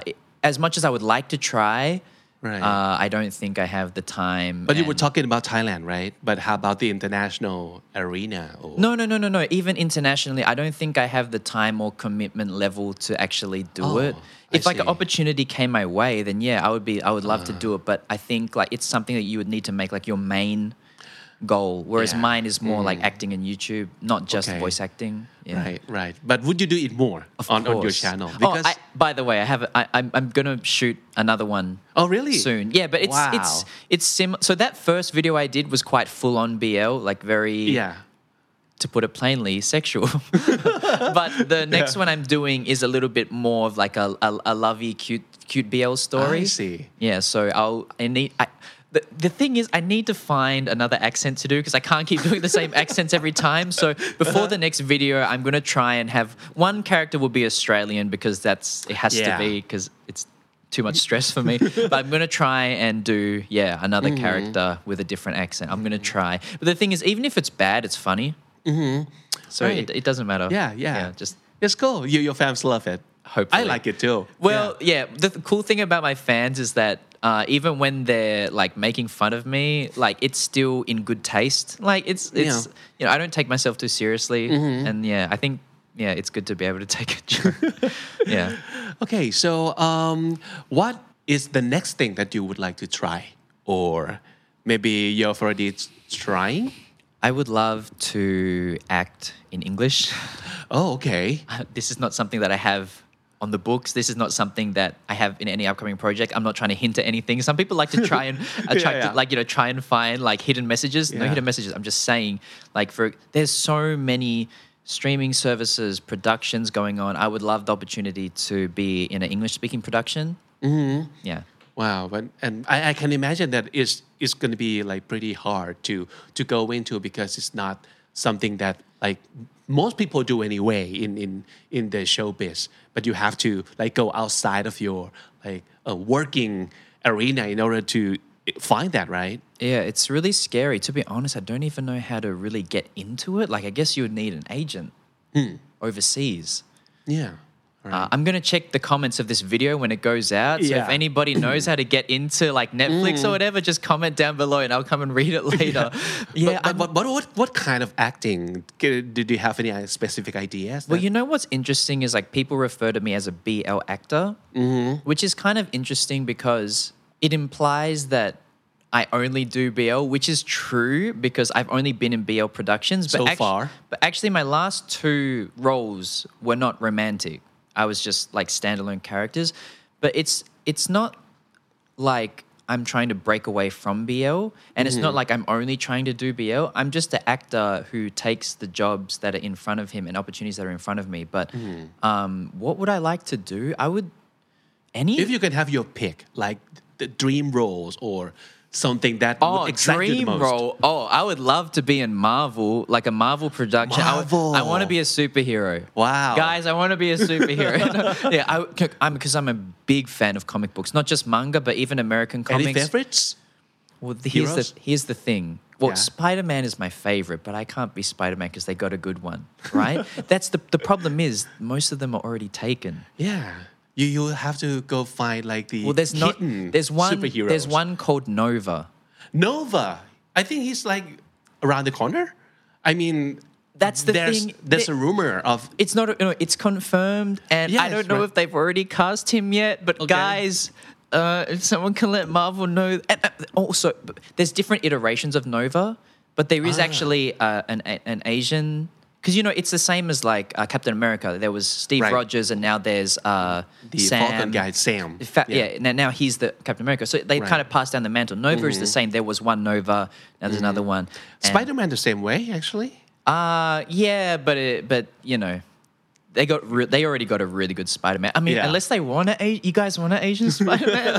Speaker 3: as much as I would like to try,
Speaker 2: Right.
Speaker 3: I don't think I have the time.
Speaker 2: But you were
Speaker 3: and-
Speaker 2: talking about Thailand, right? But how about the international arena? Or...
Speaker 3: No. Even internationally, I don't think I have the time or commitment level to actually do it. If like an
Speaker 2: see.
Speaker 3: opportunity came my way, then yeah, I would love to do it. But I think like it's something that you would need to make like your main goal. Whereas
Speaker 2: Yeah.
Speaker 3: mine is more like acting in YouTube, not just
Speaker 2: Okay.
Speaker 3: voice acting. Yeah.
Speaker 2: Right. But would you do it more on your
Speaker 3: course.
Speaker 2: channel?
Speaker 3: By the way, I'm gonna shoot another one.
Speaker 2: Oh, really?
Speaker 3: Soon, yeah. But
Speaker 2: Wow.
Speaker 3: it's similar. So that first video I did was quite full on BL, like very,
Speaker 2: Yeah.
Speaker 3: to put it plainly, sexual. But the next one I'm doing is a little bit more of like a lovey, cute BL story.
Speaker 2: I see.
Speaker 3: Yeah. So the thing is, I need to find another accent to do because I can't keep doing the same accents every time. So before the next video, I'm going to try and have one character will be Australian because it has to
Speaker 2: Yeah.
Speaker 3: be because it's too much stress for me. But I'm going to try and do, another character with a different accent. I'm going to try. But the thing is, even if it's bad, it's funny. So
Speaker 2: Right.
Speaker 3: it doesn't matter.
Speaker 2: Yeah.
Speaker 3: Just
Speaker 2: It's cool. Your fans love it.
Speaker 3: Hopefully.
Speaker 2: I like it too.
Speaker 3: Well, the cool thing about my fans is that even when they're like making fun of me, like it's still in good taste. Like it's you know I don't take myself too seriously, and I think it's good to be able to take a joke. Yeah.
Speaker 2: Okay, so what is the next thing that you would like to try, or maybe you're already trying?
Speaker 3: I would love to act in English.
Speaker 2: Oh, okay.
Speaker 3: This is not something that I have on the books. This is not something that I have in any upcoming project. I'm not trying to hint at anything. Some people like to try and try and find like hidden messages. No
Speaker 2: Yeah.
Speaker 3: hidden messages. I'm just saying, like there's so many streaming services, productions going on. I would love the opportunity to be in an English speaking production. Yeah.
Speaker 2: Wow, and I can imagine that it's going to be like pretty hard to go into because it's not something that like most people do anyway in the showbiz. But you have to like go outside of your like working arena in order to find that, right?
Speaker 3: Yeah, it's really scary. To be honest, I don't even know how to really get into it. Like, I guess you would need an agent overseas.
Speaker 2: Yeah. Right.
Speaker 3: I'm going to check the comments of this video when it goes out. So if
Speaker 2: Yeah.
Speaker 3: anybody knows how to get into like Netflix or whatever, just comment down below and I'll come and read it later.
Speaker 2: But what kind of acting? Did you have any specific ideas?
Speaker 3: Well, you know what's interesting is like people refer to me as a BL actor, which is kind of interesting because it implies that I only do BL, which is true because I've only been in BL productions. But
Speaker 2: So far.
Speaker 3: But actually, my last 2 roles were not romantic. I was just like standalone characters. But it's not like I'm trying to break away from BL. And it's not like I'm only trying to do BL. I'm just an actor who takes the jobs that are in front of him and opportunities that are in front of me. But what would I like to do? I would...
Speaker 2: If you can have your pick, like the dream roles or something that
Speaker 3: Oh,
Speaker 2: would excite you the
Speaker 3: dream
Speaker 2: most?
Speaker 3: role. Oh, I would love to be in Marvel, like a Marvel production.
Speaker 2: Marvel.
Speaker 3: I want to be a superhero.
Speaker 2: Wow.
Speaker 3: Guys, I want to be a superhero. Yeah, because I'm a big fan of comic books, not just manga, but even American comics.
Speaker 2: Any favorites?
Speaker 3: Well,
Speaker 2: Heroes?
Speaker 3: here's the thing. Well,
Speaker 2: Yeah.
Speaker 3: Spider-Man is my favorite, but I can't be Spider-Man because they got a good one, right? That's the problem is most of them are already taken.
Speaker 2: Yeah. You have to go find like the
Speaker 3: Well, there's not.
Speaker 2: hidden
Speaker 3: There's one.
Speaker 2: superheroes.
Speaker 3: There's one called Nova.
Speaker 2: Nova. I think he's like around the corner. I mean,
Speaker 3: That's the
Speaker 2: there's,
Speaker 3: thing.
Speaker 2: There's a rumor of
Speaker 3: It's not. It's confirmed, and I
Speaker 2: Yes,
Speaker 3: don't know
Speaker 2: right.
Speaker 3: if they've already cast him yet. But
Speaker 2: Okay.
Speaker 3: guys, if someone can let Marvel know. And also, there's different iterations of Nova, but there is actually an Asian. Because it's the same as like Captain America. There was Steve
Speaker 2: Right.
Speaker 3: Rogers, and now there's
Speaker 2: the
Speaker 3: Sam.
Speaker 2: Falcon guy, Sam.
Speaker 3: Yeah. Now he's the Captain America. So they
Speaker 2: Right.
Speaker 3: kind of passed down the mantle. Nova is the same. There was one Nova. Now there's another one. And-
Speaker 2: Spider-Man the same way, actually.
Speaker 3: yeah, but they already got a really good Spider-Man. I mean,
Speaker 2: Yeah.
Speaker 3: unless they want you guys want an Asian Spider-Man.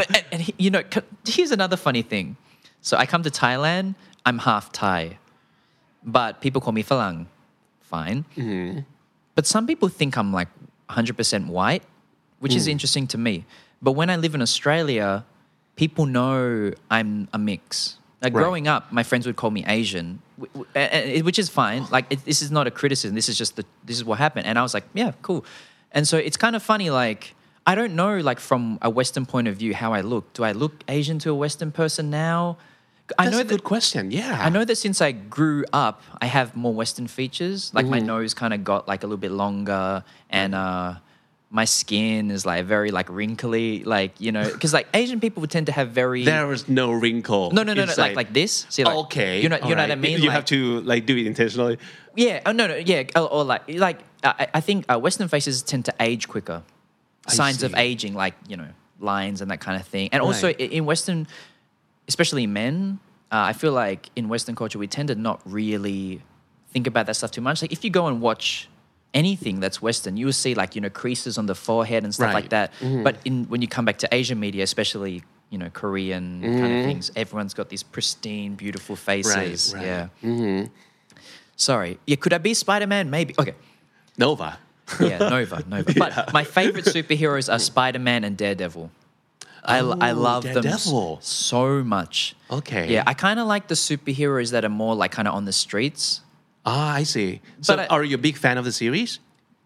Speaker 3: Here's another funny thing. So I come to Thailand. I'm half Thai, but people call me Falang. Fine.
Speaker 2: Mm-hmm.
Speaker 3: But some people think I'm like 100% white, which is interesting to me. But when I live in Australia, people know I'm a mix. Like
Speaker 2: Right.
Speaker 3: growing up, my friends would call me Asian, which is fine. Like this is not a criticism. This is just this is what happened. And I was like, yeah, cool. And so it's kind of funny. Like I don't know, like from a Western point of view, how I look. Do I look Asian to a Western person now? I
Speaker 2: That's
Speaker 3: know
Speaker 2: a good question. Yeah.
Speaker 3: I know that since I grew up, I have more Western features. Like my nose kind of got like a little bit longer, and my skin is like very like wrinkly, like because like Asian people would tend to have very
Speaker 2: There was no wrinkle.
Speaker 3: no
Speaker 2: inside.
Speaker 3: like this. See, like,
Speaker 2: Okay.
Speaker 3: you know what I
Speaker 2: alright.
Speaker 3: mean.
Speaker 2: You
Speaker 3: Like-
Speaker 2: have to like do it intentionally.
Speaker 3: yeah. Oh no, yeah. Or like I think Western faces tend to age quicker. Signs of
Speaker 2: see.
Speaker 3: aging, like lines and that kind of thing. And also
Speaker 2: Right.
Speaker 3: in Western, especially men, I feel like in Western culture we tend to not really think about that stuff too much. Like if you go and watch anything that's Western, you will see like creases on the forehead and stuff
Speaker 2: Right.
Speaker 3: like that. But when you come back to Asian media, especially Korean kind of things, everyone's got these pristine, beautiful faces.
Speaker 2: right.
Speaker 3: Yeah. Sorry. Yeah. Could I be Spider-Man? Maybe. Okay.
Speaker 2: Nova.
Speaker 3: Yeah, Nova. But my favorite superheroes are Spider-Man and Daredevil. I love
Speaker 2: Daredevil.
Speaker 3: them so much.
Speaker 2: Okay.
Speaker 3: Yeah, I kind of like the superheroes that are more like kind of on the streets.
Speaker 2: Ah, I see. So
Speaker 3: But
Speaker 2: are you a big fan of the series?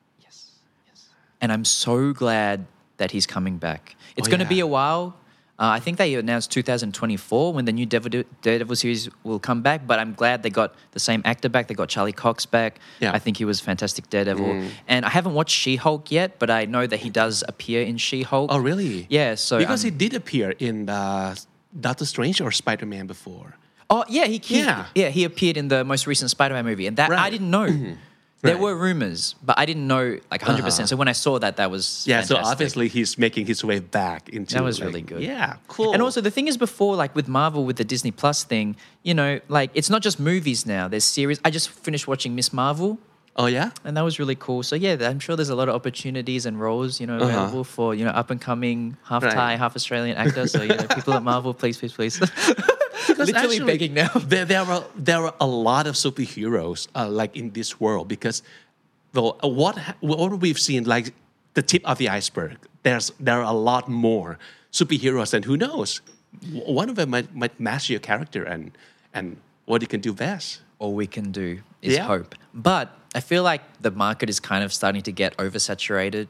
Speaker 3: And I'm so glad that he's coming back. It's
Speaker 2: Oh,
Speaker 3: going to
Speaker 2: yeah.
Speaker 3: be a while. I think they announced 2024 when the new Daredevil series will come back, but I'm glad they got the same actor back. They got Charlie Cox back.
Speaker 2: Yeah.
Speaker 3: I think he was fantastic Daredevil. And I haven't watched She-Hulk yet, but I know that he does appear in She-Hulk.
Speaker 2: Oh, really?
Speaker 3: Yeah, so...
Speaker 2: Because he did appear in Doctor Strange or Spider-Man before.
Speaker 3: Oh, yeah,
Speaker 2: Yeah.
Speaker 3: he appeared in the most recent Spider-Man movie. And that I
Speaker 2: Right.
Speaker 3: didn't know. There
Speaker 2: Right.
Speaker 3: were rumors, but I didn't know like 100%. So when I saw that was
Speaker 2: Yeah, so
Speaker 3: fantastic.
Speaker 2: obviously he's making his way back into
Speaker 3: That was
Speaker 2: like-
Speaker 3: really good.
Speaker 2: Yeah, cool.
Speaker 3: And also the thing is before, like with Marvel, with the Disney Plus thing, like it's not just movies now. There's series. I just finished watching Miss Marvel,
Speaker 2: Oh yeah?
Speaker 3: and that was really cool. So yeah, I'm sure there's a lot of opportunities and roles, available for up and coming half
Speaker 2: Right.
Speaker 3: Thai, half Australian actor. So people at Marvel, please.
Speaker 2: Because
Speaker 3: Literally
Speaker 2: actually,
Speaker 3: begging now.
Speaker 2: There are a lot of superheroes like in this world because well, what we've seen like the tip of the iceberg. There are a lot more superheroes, and who knows, one of them might master your character and what you can do best.
Speaker 3: All we can do is
Speaker 2: Yeah.
Speaker 3: hope. But I feel like the market is kind of starting to get oversaturated.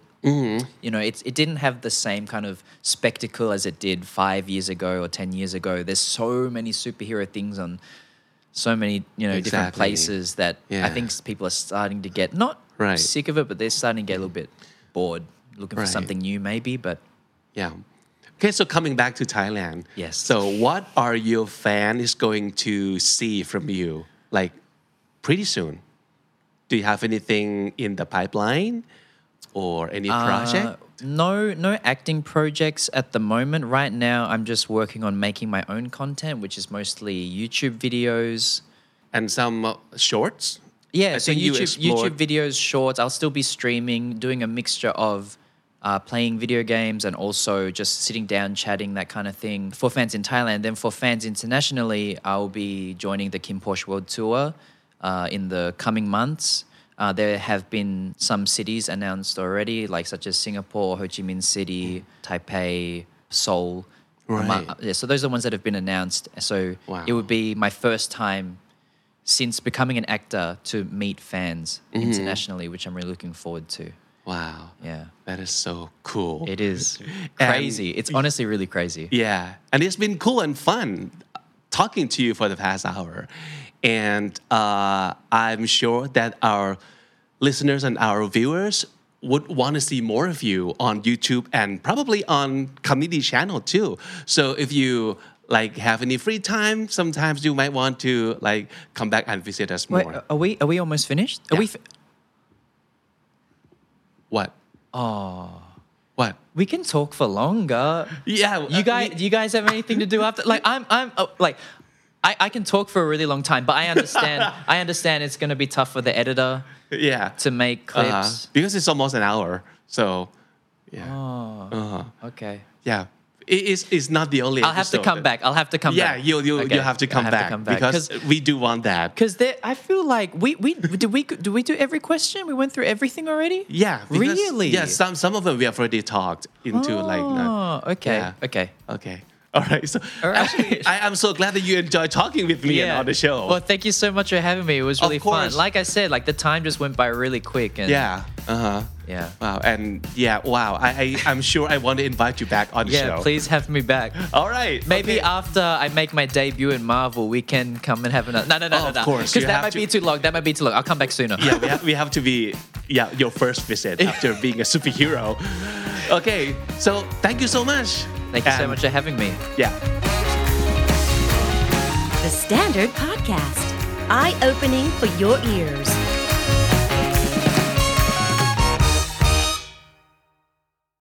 Speaker 3: It didn't have the same kind of spectacle as it did 5 years ago or 10 years ago. There's so many superhero things on so many, different
Speaker 2: Exactly.
Speaker 3: places that I
Speaker 2: Yeah.
Speaker 3: think people are starting to get not
Speaker 2: Right.
Speaker 3: sick of it, but they're starting to get a little bit bored, looking for
Speaker 2: Right.
Speaker 3: something new maybe. But
Speaker 2: Yeah. Okay, so coming back to Thailand.
Speaker 3: Yes.
Speaker 2: So what are your fans going to see from you like pretty soon? Do you have anything in the pipeline or any project?
Speaker 3: No acting projects at the moment. Right now, I'm just working on making my own content, which is mostly YouTube videos.
Speaker 2: And some shorts?
Speaker 3: Yeah,
Speaker 2: I
Speaker 3: so
Speaker 2: think you
Speaker 3: YouTube
Speaker 2: explored-
Speaker 3: videos, shorts. I'll still be streaming, doing a mixture of playing video games and also just sitting down, chatting, that kind of thing for fans in Thailand. Then for fans internationally, I'll be joining the Kim Porsche World Tour in the coming months. There have been some cities announced already, like such as Singapore, Ho Chi Minh City, Taipei, Seoul.
Speaker 2: Right.
Speaker 3: So those are the ones that have been announced. So
Speaker 2: Wow.
Speaker 3: it would be my first time since becoming an actor to meet fans internationally, which I'm really looking forward to.
Speaker 2: Wow.
Speaker 3: Yeah.
Speaker 2: That is so cool.
Speaker 3: It is
Speaker 2: And-
Speaker 3: crazy. It's honestly really crazy.
Speaker 2: Yeah. And it's been cool and fun talking to you for the past hour. And I'm sure that our listeners and our viewers would want to see more of you on YouTube and probably on community channel too. So if you like have any free time, sometimes you might want to like come back and visit us more.
Speaker 3: Wait, are we almost finished? Are
Speaker 2: Yeah.
Speaker 3: we?
Speaker 2: What?
Speaker 3: Oh,
Speaker 2: What?
Speaker 3: we can talk for longer.
Speaker 2: Yeah.
Speaker 3: You guys, do you guys have anything to do after? Like, I can talk for a really long time, but I understand. I understand it's going to be tough for the editor
Speaker 2: Yeah.
Speaker 3: to make clips.
Speaker 2: Because it's almost an hour. So, yeah.
Speaker 3: Oh, okay.
Speaker 2: Yeah. It's not the only
Speaker 3: I'll have to
Speaker 2: episode
Speaker 3: come
Speaker 2: that-
Speaker 3: back. I'll have to come
Speaker 2: Yeah,
Speaker 3: back.
Speaker 2: you have to come back because we do want that.
Speaker 3: Because I feel like we do we do every question? We went through everything already.
Speaker 2: Yeah, because,
Speaker 3: Really?
Speaker 2: Yeah, some of them we have already talked into like.
Speaker 3: Oh, okay,
Speaker 2: Yeah.
Speaker 3: okay.
Speaker 2: Okay. All right. So
Speaker 3: All right.
Speaker 2: I'm so glad that you enjoy talking with me and on the show.
Speaker 3: Well, thank you so much for having me. It was really fun.
Speaker 2: course.
Speaker 3: Like I said, like the time just went by really quick. And
Speaker 2: Yeah.
Speaker 3: yeah.
Speaker 2: Wow. And yeah. Wow. I'm sure I want to invite you back on the
Speaker 3: Yeah,
Speaker 2: show.
Speaker 3: please have me back.
Speaker 2: All right.
Speaker 3: Maybe
Speaker 2: okay.
Speaker 3: after I make my debut in Marvel, we can come and have another. No.
Speaker 2: of course,
Speaker 3: Because
Speaker 2: you
Speaker 3: that
Speaker 2: have
Speaker 3: might
Speaker 2: to-
Speaker 3: be too long. That might be too long. I'll come back sooner.
Speaker 2: Yeah, we have to be your first visit after being a superhero. Okay. So thank you so much.
Speaker 3: Thank you so
Speaker 2: And-
Speaker 3: much for having me.
Speaker 2: Yeah.
Speaker 1: The Standard Podcast, eye-opening for your ears.